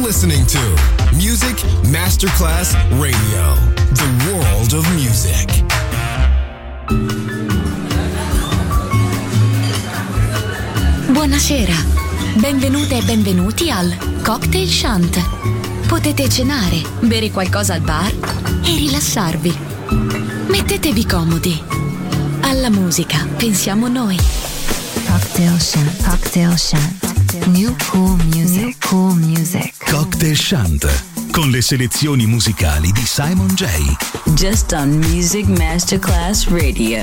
listening to Music Masterclass Radio, the world of music. Buonasera, benvenute e benvenuti al Cocktail Shant. Potete cenare, bere qualcosa al bar e rilassarvi. Mettetevi comodi. Alla musica pensiamo noi. Cocktail Shant, Cocktail Shant. New cool music, new cool music. Cocktail Shant, con le selezioni musicali di Simon J. Just on Music Masterclass Radio.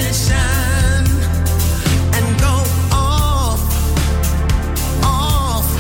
Off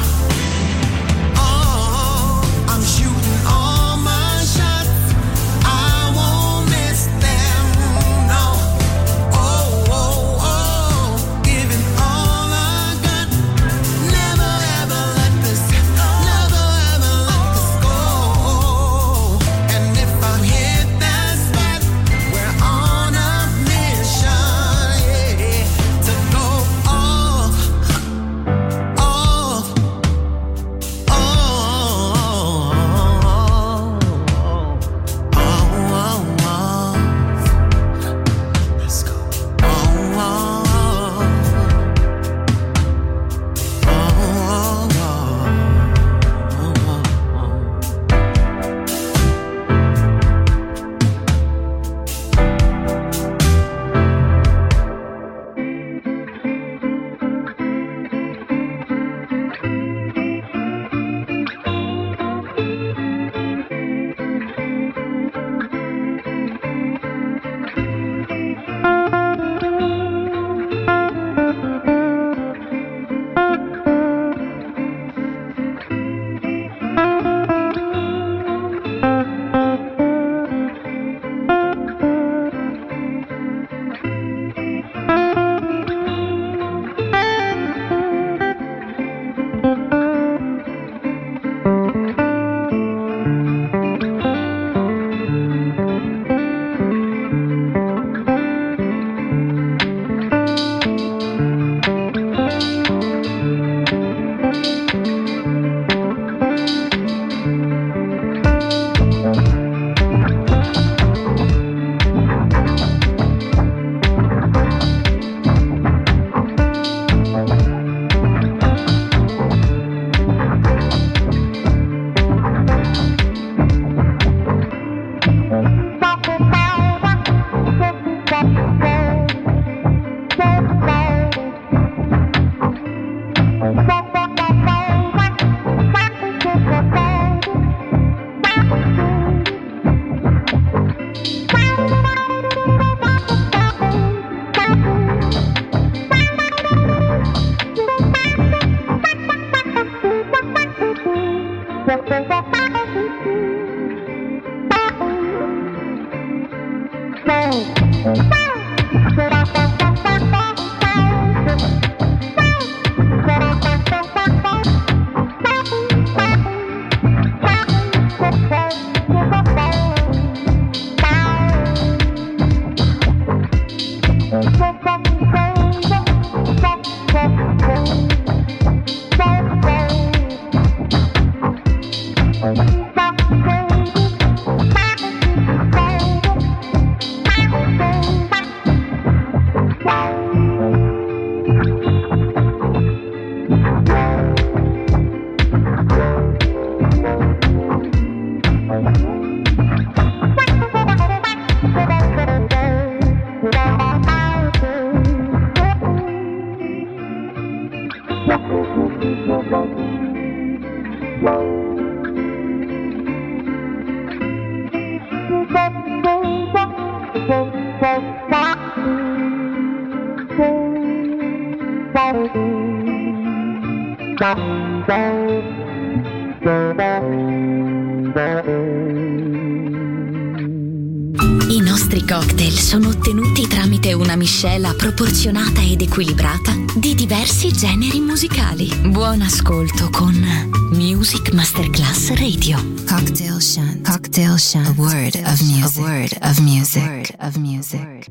I nostri cocktail sono ottenuti tramite una miscela proporzionata ed equilibrata di diversi generi musicali. Buon ascolto con Music Masterclass Radio. Cocktail Shunt. Cocktail Shunt. A word of music. A word of music. A word of music.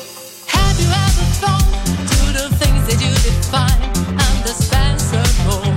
Have you ever thought to the things that you define and the Spencer Road?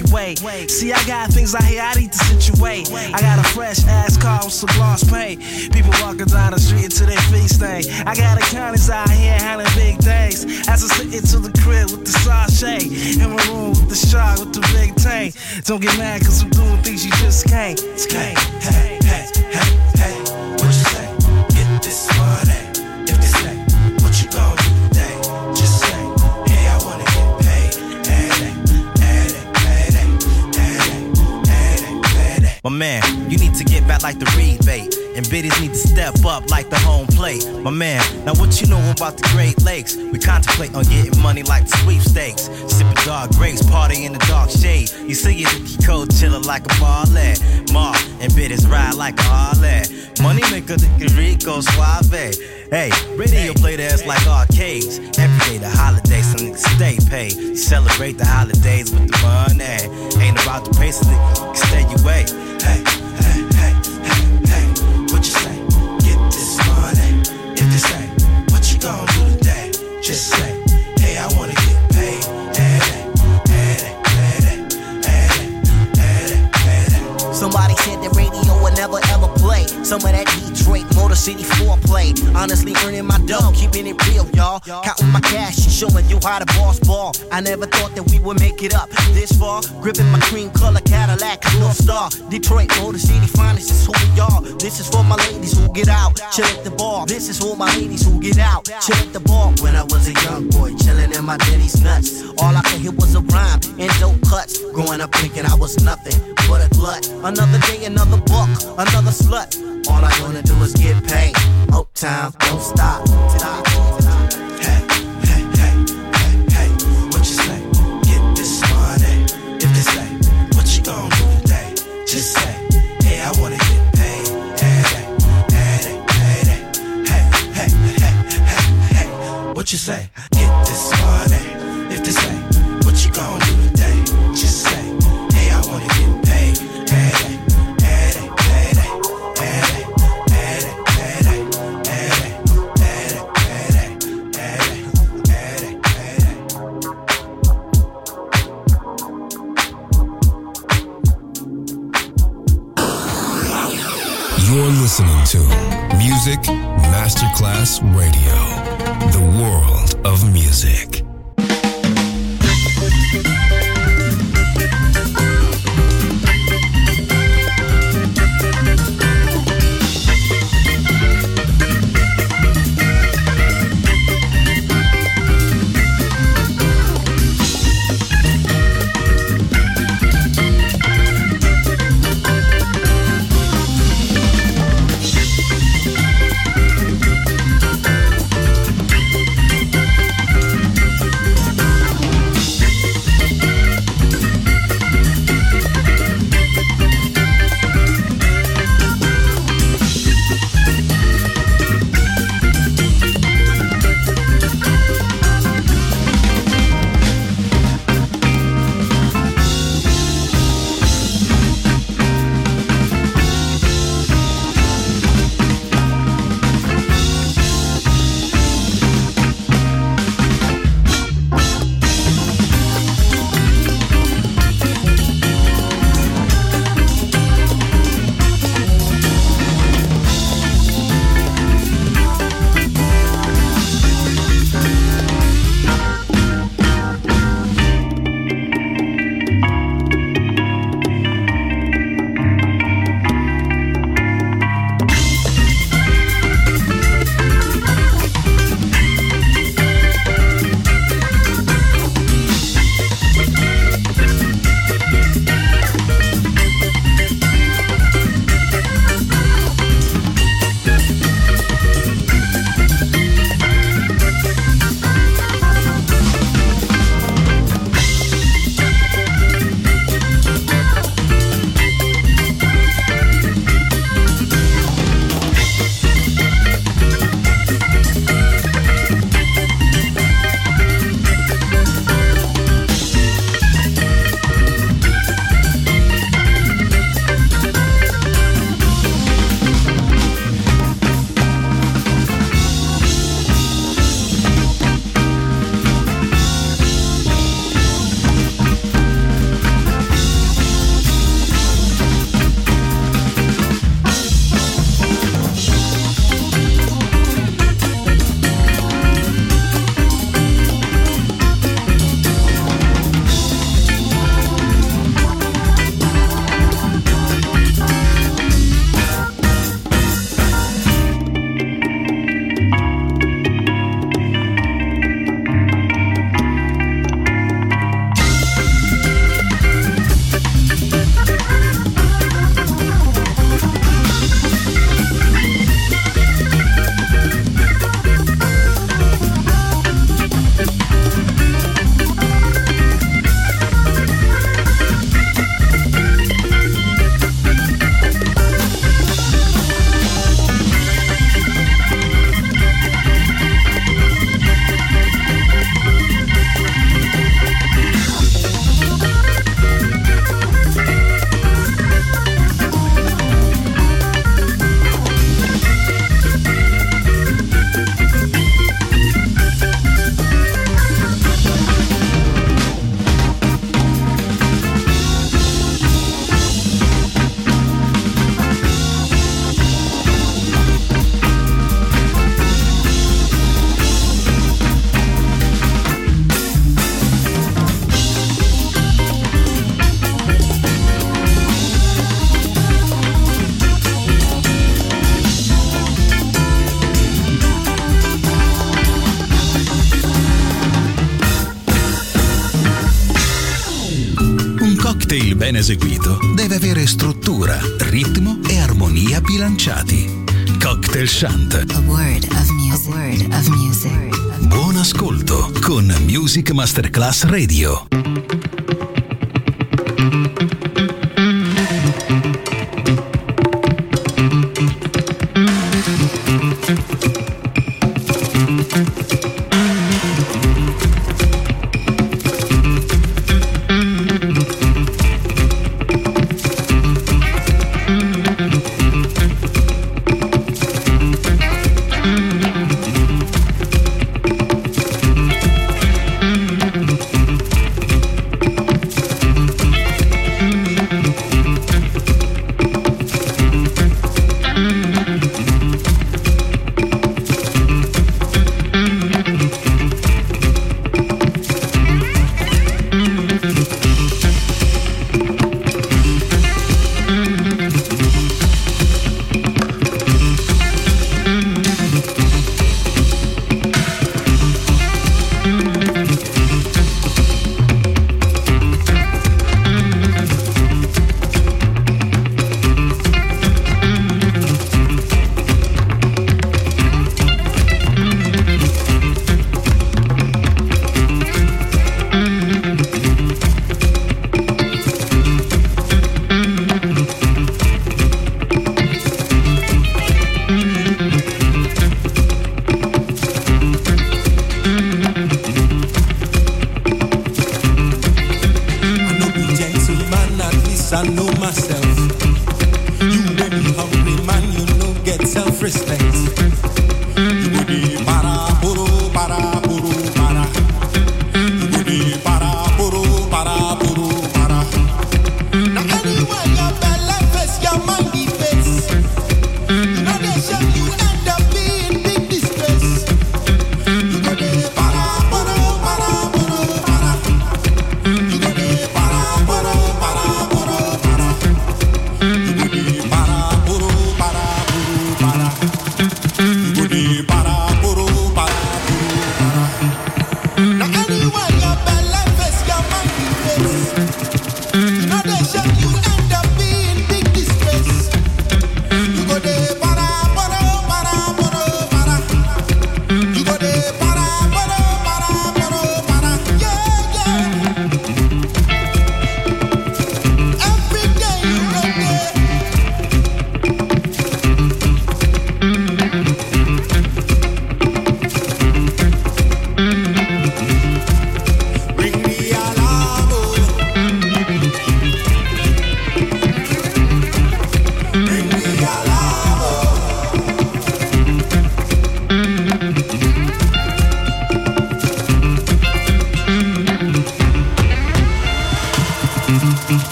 way. See, I got things out here I need to situate. I got a fresh ass car with some gloss paint. People walking down the street until their feet stay. I got accountants out here handling big things. As I sit into the crib with the sachet. In my room with the shark with the big tank. Don't get mad cause I'm doing things you just can't. Hey, hey, hey, hey, hey. What you say? Get this money. If they say, what you gon' do today? Just say, hey, I wanna get paid. My man, you need to get back like the rebate. And biddies need to step up like the home plate. My man, now what you know about the Great Lakes? We contemplate on getting money like the sweepstakes. Sipping dark grapes, party in the dark shade. You see it, you cold chillin' like a ballet. Ma and biddies ride like a Harley. Money maker, the Rico Suave. Hey, radio play the ass like arcades. Every day the holidays, some niggas stay paid. Celebrate the holidays with the money. Ain't about the pace, niggas stay away. Hey, hey, hey, hey, hey. What you say? Get this money. If they say, what you gon' do today? Just say, hey, I wanna get paid. Somebody said the radio would never ever play some of that Detroit Motor City foreplay. Honestly earning my dough, keeping it real, y'all. Counting my cash and showing you how the boss ball. I never thought that we would make it up this far. Gripping my cream color Cadillac, North Star. Detroit Motor City finest, this is who we are. This is for my ladies who get out, chill at the bar. This is for my ladies who get out, chill at the bar. When I was a young boy, chilling in my daddy's nuts. All I could hear was a rhyme and dope cuts. Growing up thinking I was nothing but a glut. Another day, another buck, another slut. All I wanna do is get paid. Uptown, don't stop. Hey, hey, hey, hey, hey. What you say? Get this money. If they say, what you gon' do today? Just say, hey, I wanna get paid. Hey, hey, hey, hey, hey, hey, hey, hey, hey. What you say? Get this money. If they say, what you gon' do today? Just say, hey, I wanna get paid. Hey, hey. You're listening to Music Masterclass Radio, the world of music. eseguito deve avere struttura, ritmo e armonia bilanciati. Cocktail Chant. A word of music. A word of music. Buon ascolto con Music Masterclass Radio.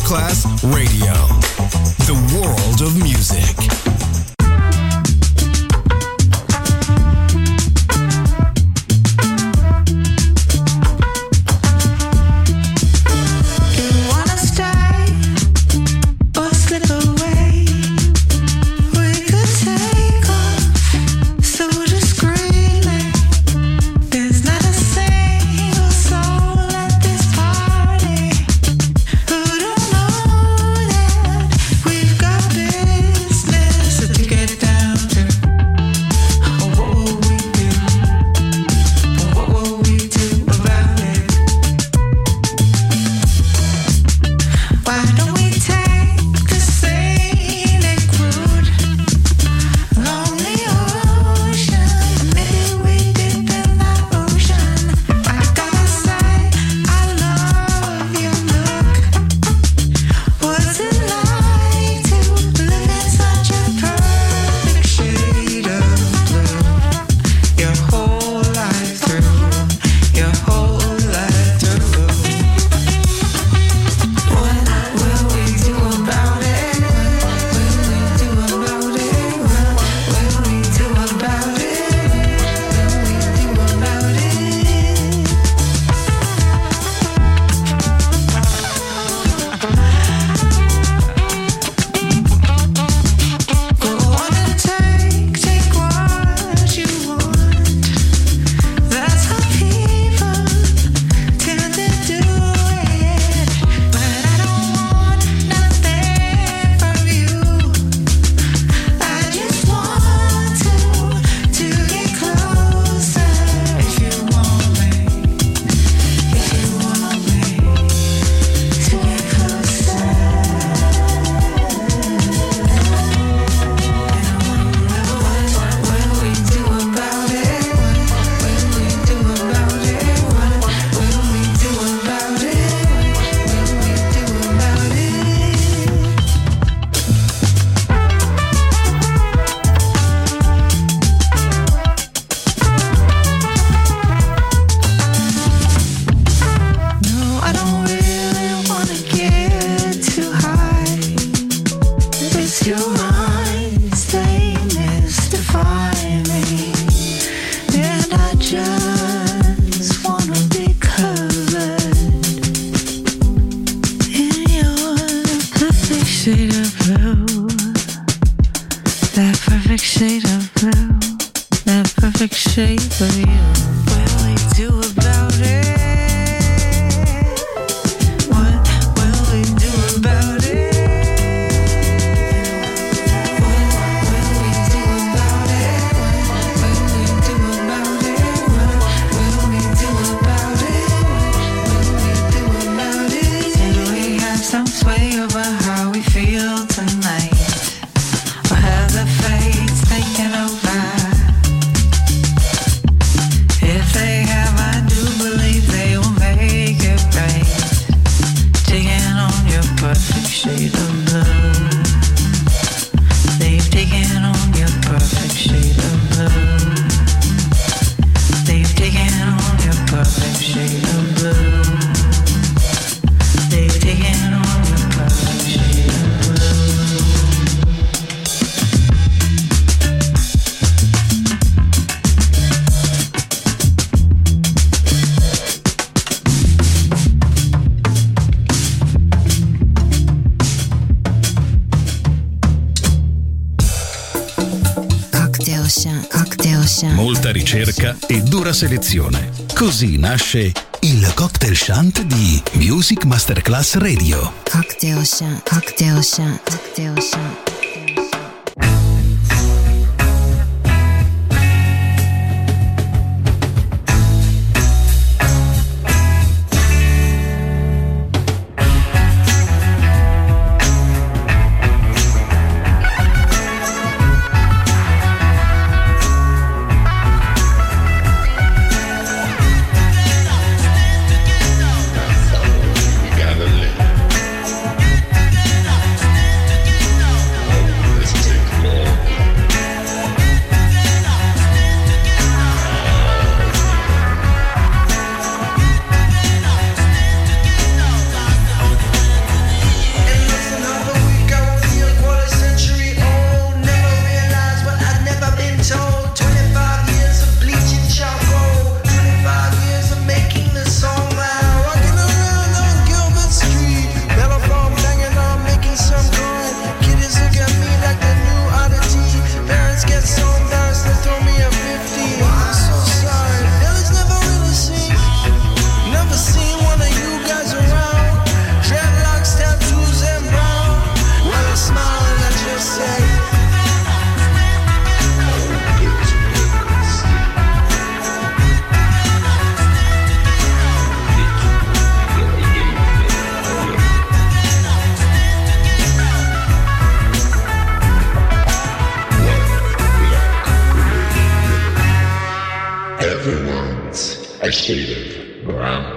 Masterclass Radio. The world of music. Molta ricerca e dura selezione. Così nasce il Cocktail Shant di Music Masterclass Radio. Cocktail Shant, Cocktail Shant, Cocktail Shant. a shade of brown.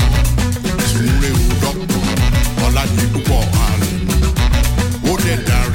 That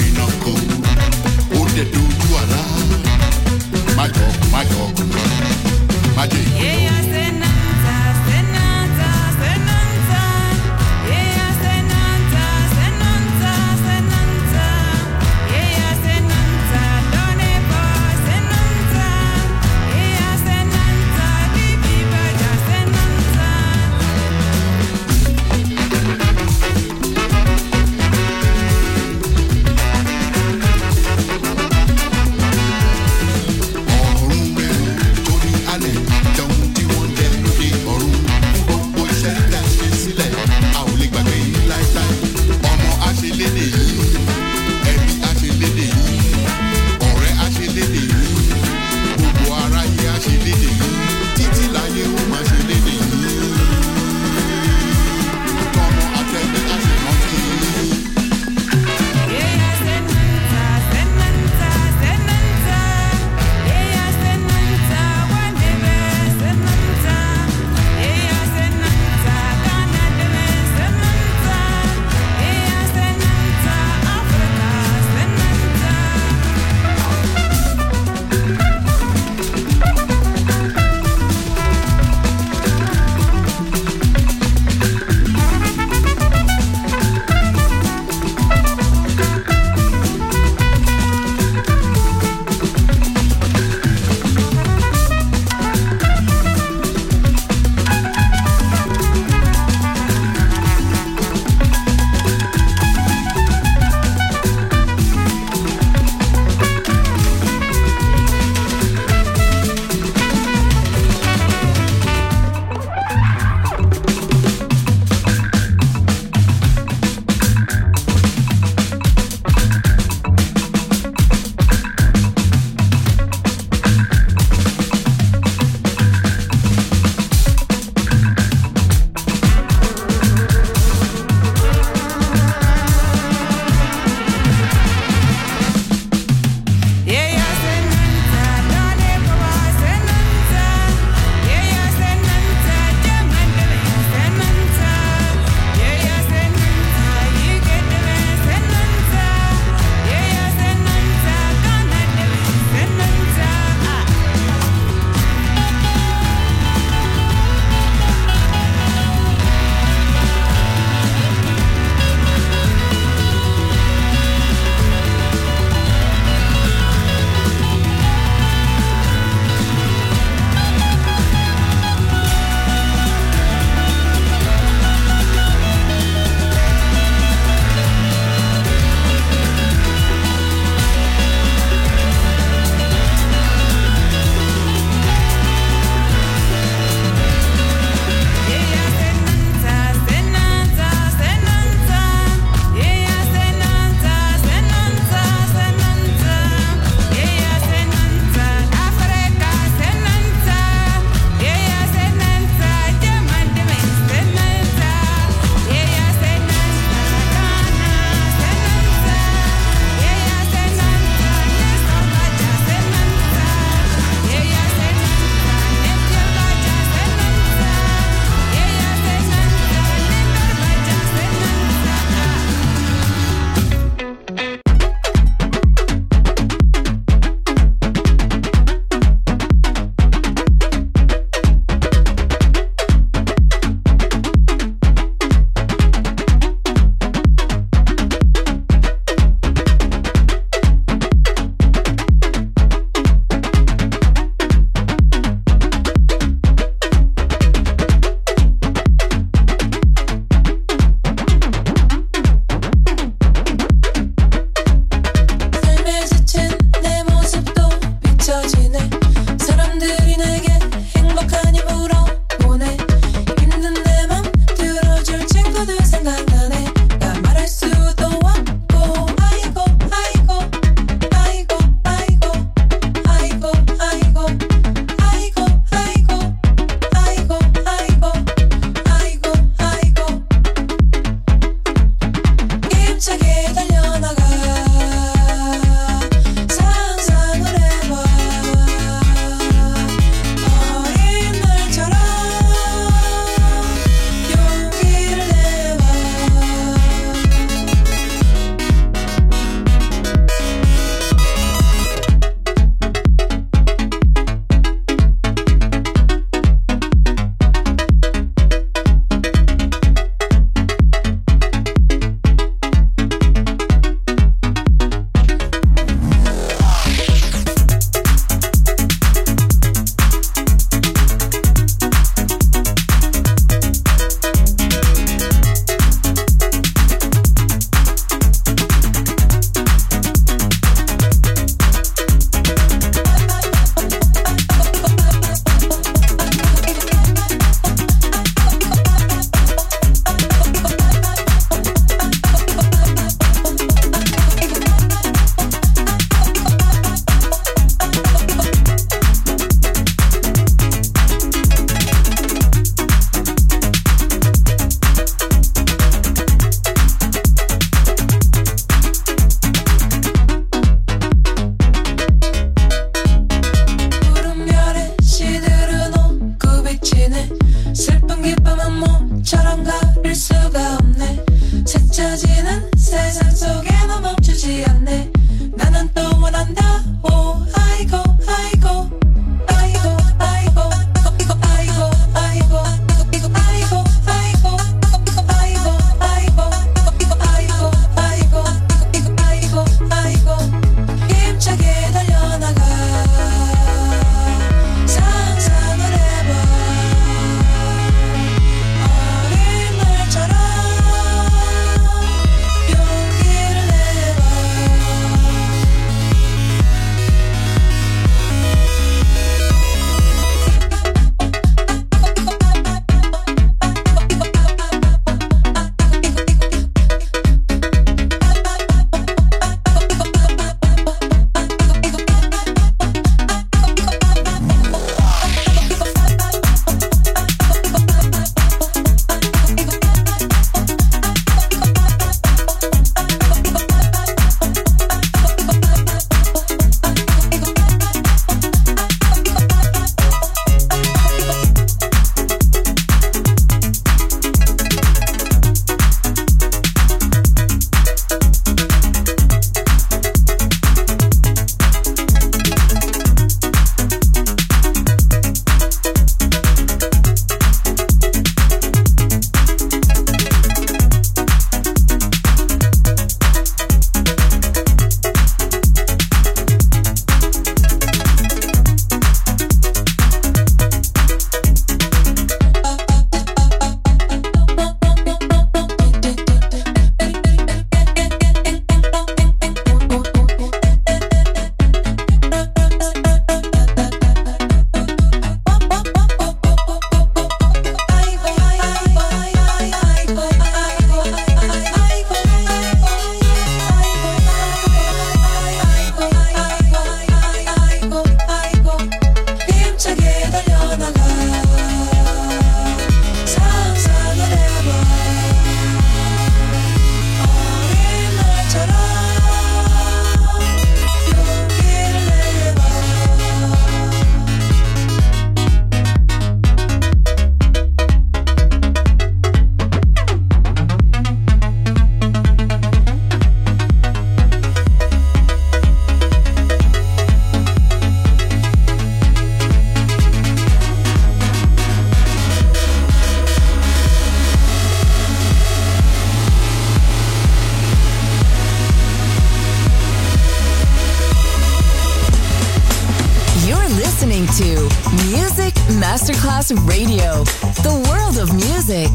Music Masterclass Radio. The world of music.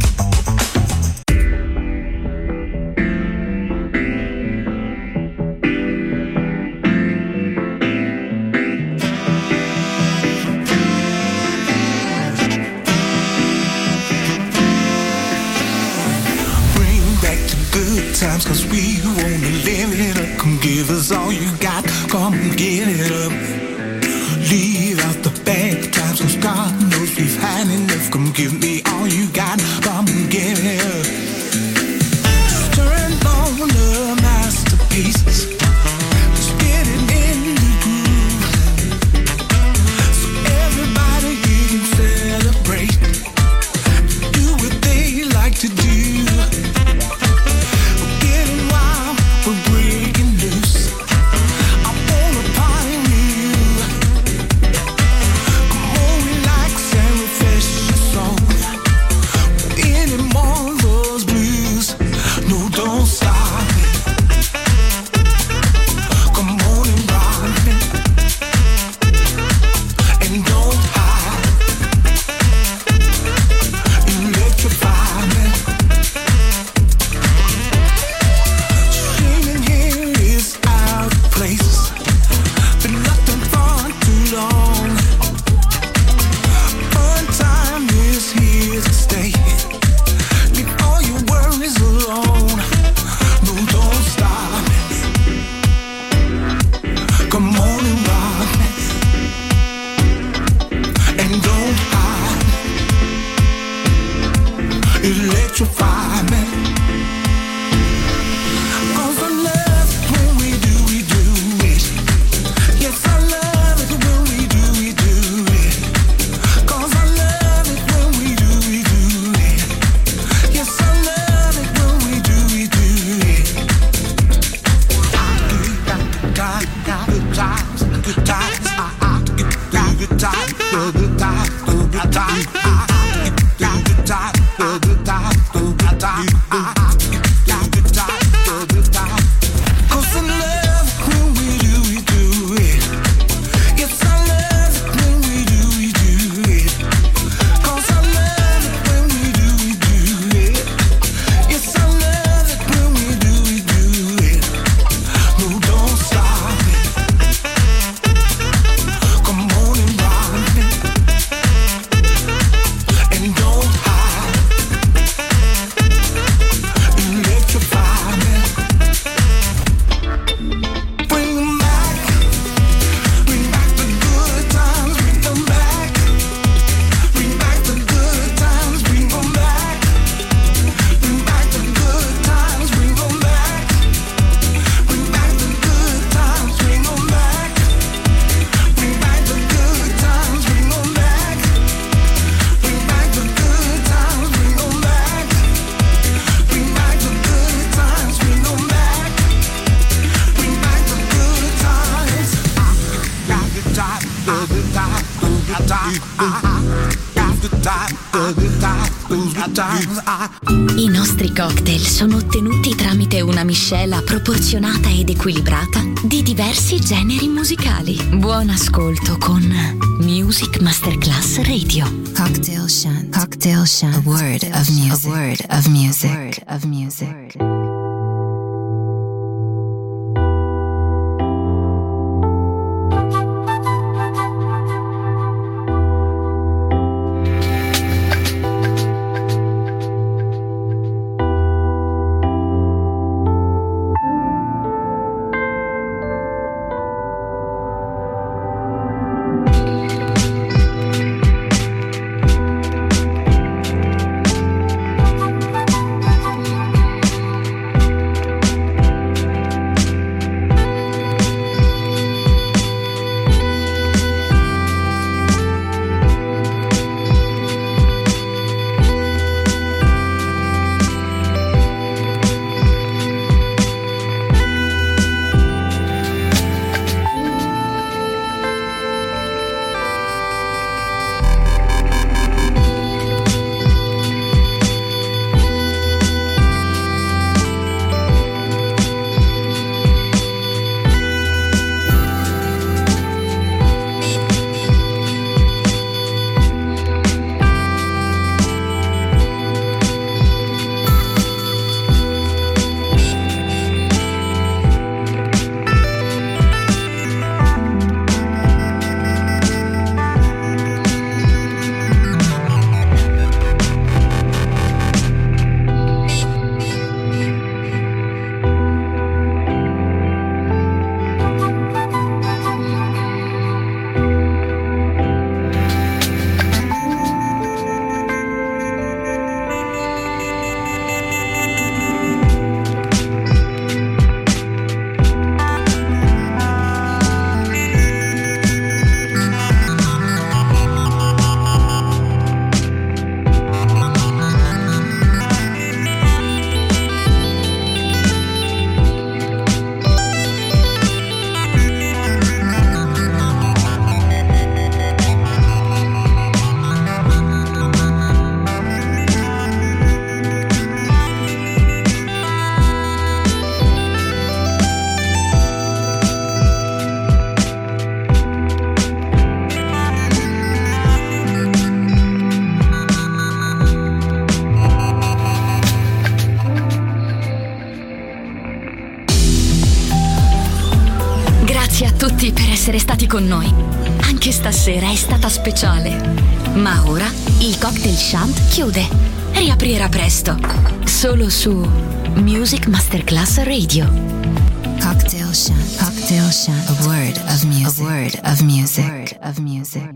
Times, 'cause we wanna live it up. Come give us all you got, come get it up. Leave out the bad times, 'cause God knows we've had enough. Come give me all you got, come get it up. Just turn on the masterpieces, just get it in the groove, so everybody here can celebrate, do what they like to do. I nostri cocktail sono ottenuti tramite una miscela proporzionata ed equilibrata di diversi generi musicali. Buon ascolto con Music Masterclass Radio. Cocktail Shant. Cocktail Shant. A word of music. A word of music. A word of music. essere stati con noi. Anche stasera è stata speciale. Ma ora il Cocktail Shant chiude. Riaprirà presto. Solo su Music Masterclass Radio. Cocktail Shant. Cocktail Shant. A word of music. A word of music.